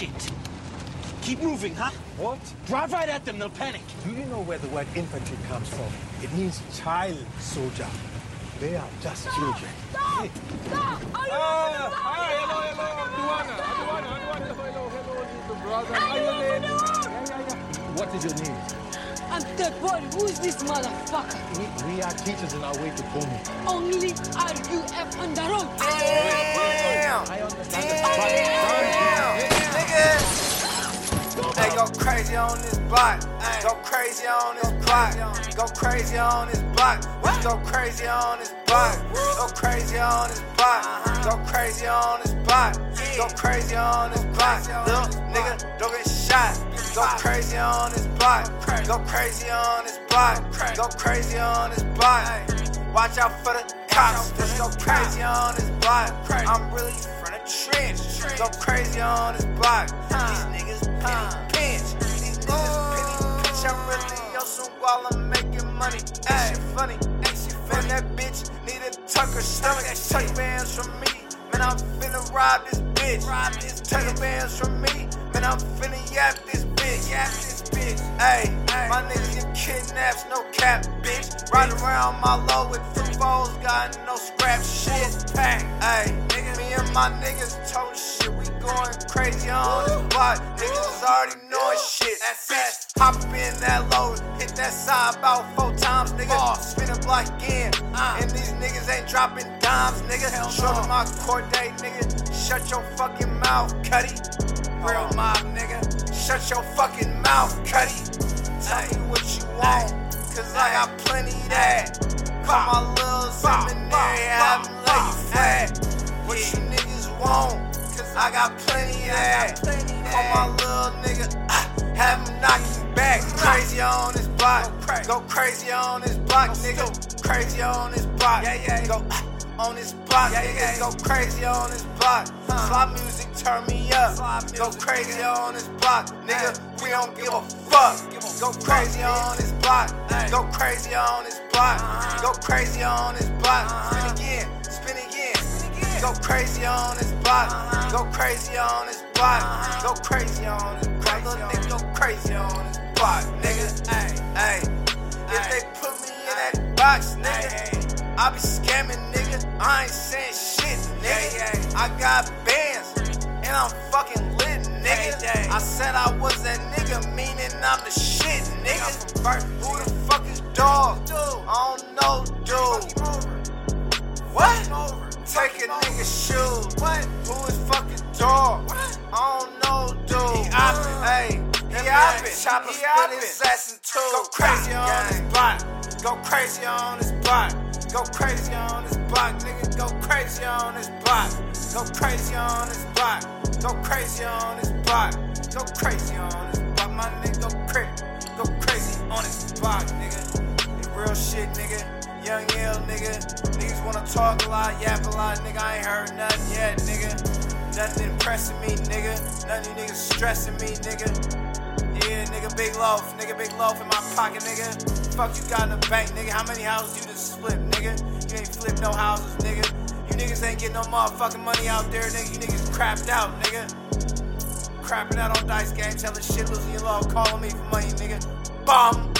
shit. Keep moving, huh? What? Drive right at them, they'll panic. Do you know where the word infantry comes from? It means child soldier. They are just children. Stop! Stop! What is your name? I'm dead body. Who is this motherfucker? We are teachers on our way to Komi. Only RUF on the road. Damn! I understand Nigga! Hey, go crazy on this block. Go crazy on this block. Go crazy on this block. Let's go crazy on this block. Go crazy on this block. Go crazy on this block. Go crazy on this block. Little nigga, don't get shot. Go crazy on this block. Go crazy on this block. Go crazy on this block. Watch out for the cops. Let's go crazy on this block. I'm really from the trench. Go crazy on this block. These niggas penny pinch. These niggas penny pinch. I'm really on some while I'm making money. Ain't shit funny. Man, that bitch need a tucker stomach. Tuck bands from me. Man, I'm finna rob this bitch. Tucker bands from me. Man, I'm finna yap this bitch. Hey, my niggas get kidnaps, no cap, bitch. Riding around my low with 2 foes, got no scrap shit. Hey, me and my niggas told shit. We going crazy on this block. Niggas is already knowing shit. Bitch, hop in that load, hit that side about 4 times, nigga. Spin a block again, and these niggas ain't dropping dimes, nigga. Show them my court date, nigga. Shut your fucking mouth, Cuddy. Real mob, nigga. Shut your fucking mouth, Cuddy. Tell me what you want, cause I got plenty of that. Call my little seminary, have them lay you flat. What you niggas want, cause I got plenty of that. Call my little nigga, have him knock you back. Crazy on this block, go crazy on this block, nigga. Crazy on this block, go on this block, niggas go crazy on this block. Slop music turn me up. Go crazy on this block, nigga. We don't give a fuck. Go crazy on this block. Go crazy on this block. Go crazy on this block. Spin again, spin again. Go crazy on this block. Go crazy on this block. Go crazy on this block. Little nigga go crazy on this block, nigga. Hey, if they put me in that box, nigga, I be scamming, nigga. I ain't saying shit, nigga. I got bands, and I'm fucking lit, nigga. I said I was that nigga, meaning I'm the shit, nigga. Who the fuck is dog? I don't know, dude. What? Take a nigga's shoes. Who is fucking dog? I don't know, dude. Hey, he hoppin'. Chopper split his ass in two. Go crazy on this block. Go crazy on this block. Go crazy on this block, nigga. Go crazy on this block. Go crazy on this block. Go crazy on this block. Go crazy on this block, my nigga. Go crazy on this block, nigga. It's real shit, nigga. Young ill, nigga. Niggas wanna talk a lot, yap a lot, nigga. I ain't heard nothing yet, nigga. Nothing impressing me, nigga. None of you niggas stressing me, nigga. Yeah, nigga, big loaf in my pocket, nigga. Fuck you got in the bank, nigga. How many houses you just flipped, nigga? You ain't flipped no houses, nigga. You niggas ain't getting no motherfucking money out there, nigga. You niggas crapped out, nigga. Crapping out on dice games, having shit, losing your love, calling me for money, nigga. Bomb.